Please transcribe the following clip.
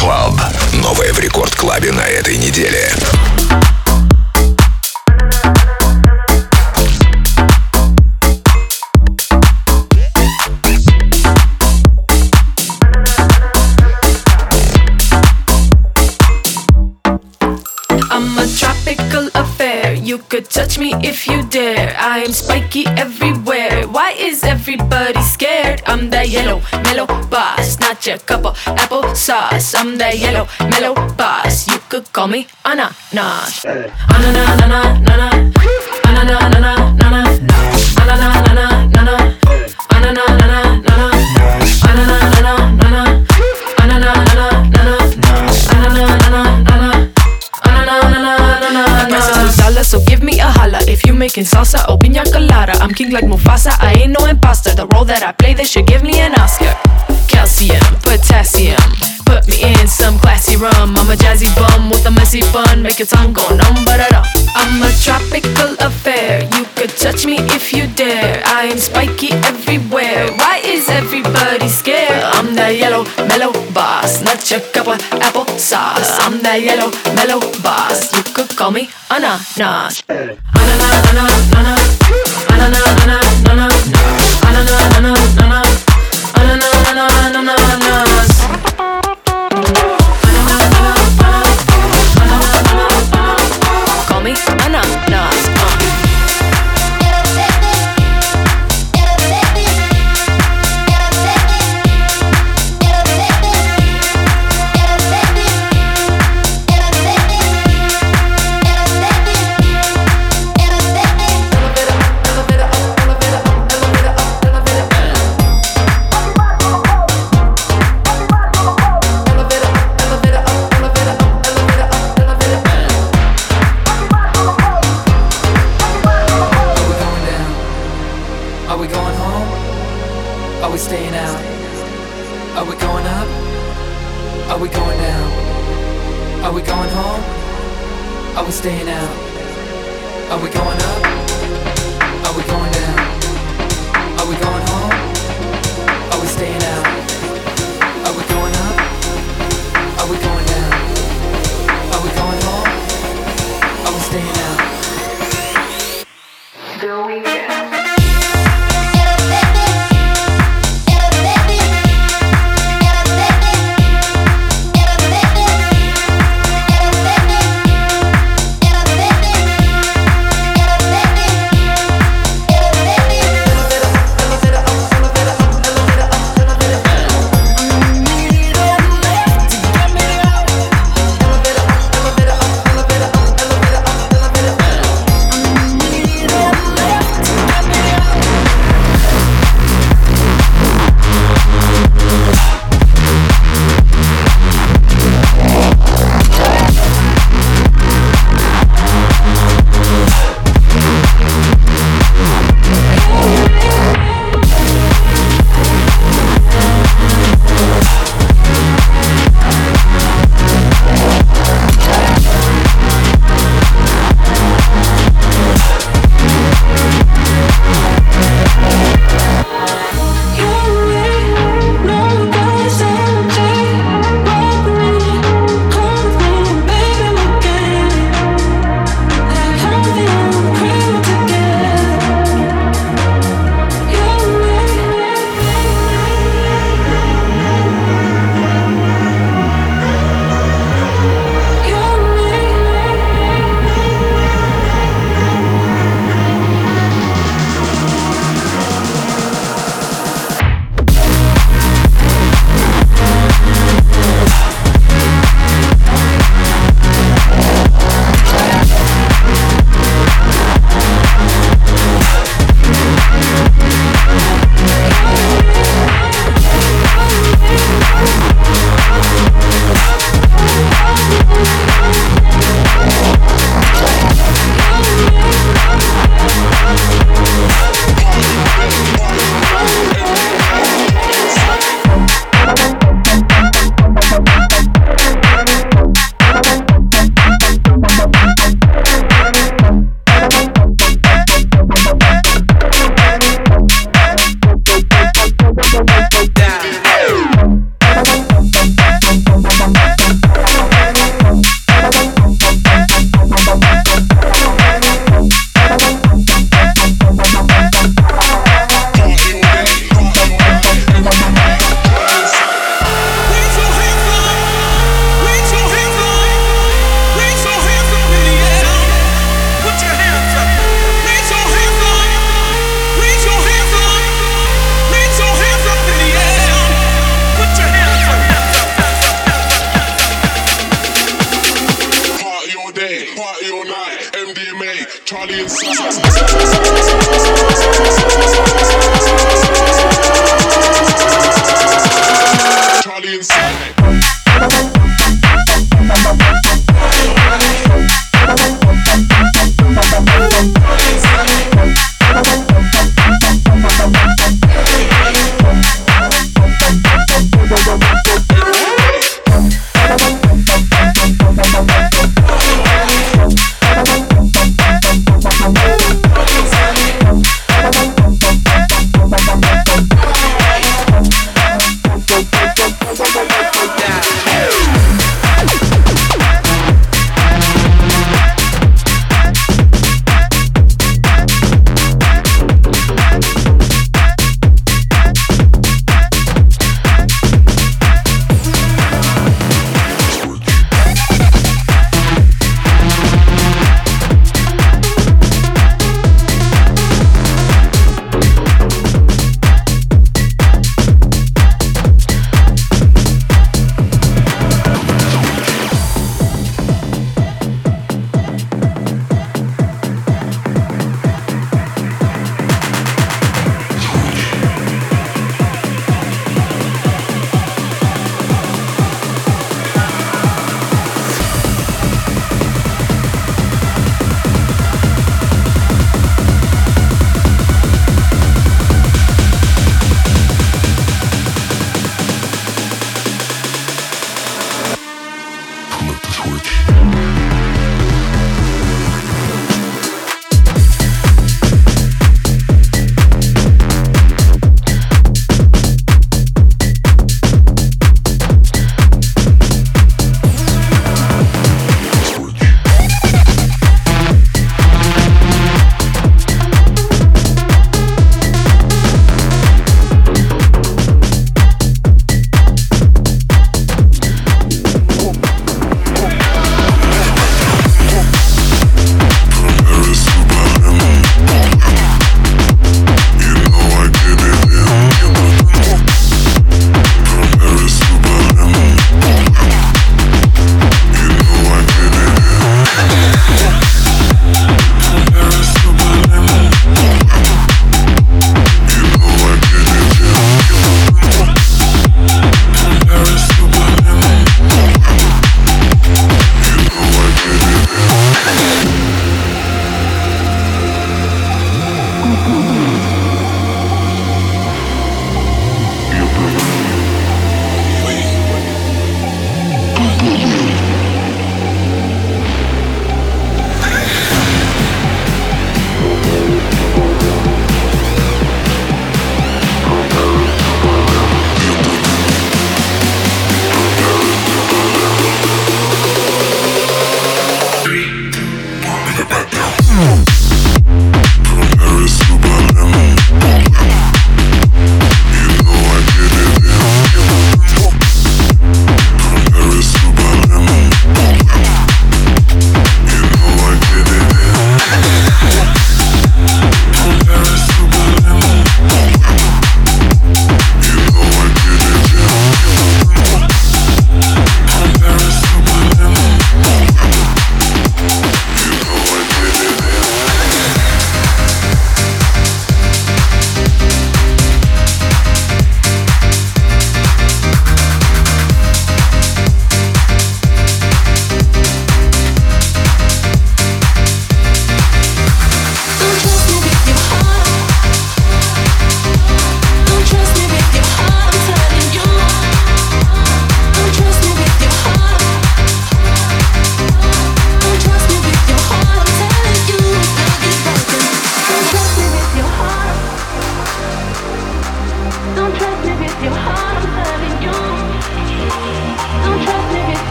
Club. Новое в Рекорд Клабе на этой неделе. I'm a tropical affair. You could touch me if you dare. I am spiky everywhere. Why is everybody scared? I'm that yellow, mellow boss, not your cup of applesauce. I'm that yellow, mellow boss. You could call me ananas. Ananas, ananas, ananas, ananas, ananas, ananas, ananas, ananas, ananas, so give me a holla if you making salsa or piña colada. I'm king like Mufasa, I ain't no imposter. The role that I play, they should give me an Oscar. Calcium, potassium, put me in some classy rum. I'm a jazzy bum with a messy bun, make your tongue go numb, ba-da-da. I'm a tropical affair, you could touch me if you dare. I am spiky everywhere, why is everybody scared? I'm that yellow, mellow boss, not your cup of applesauce. I'm that yellow, mellow boss, you could call me ananas. Ananas, ananas, ananas, ananas, ananas, ananas, ananas, ananas, ananas. Call me ananas. Staying out. Are we going up? Are we going down? Are we going home? Are we staying out? Are we going up? Are we going down? Are we going home? Are we staying out? The weekend. inside.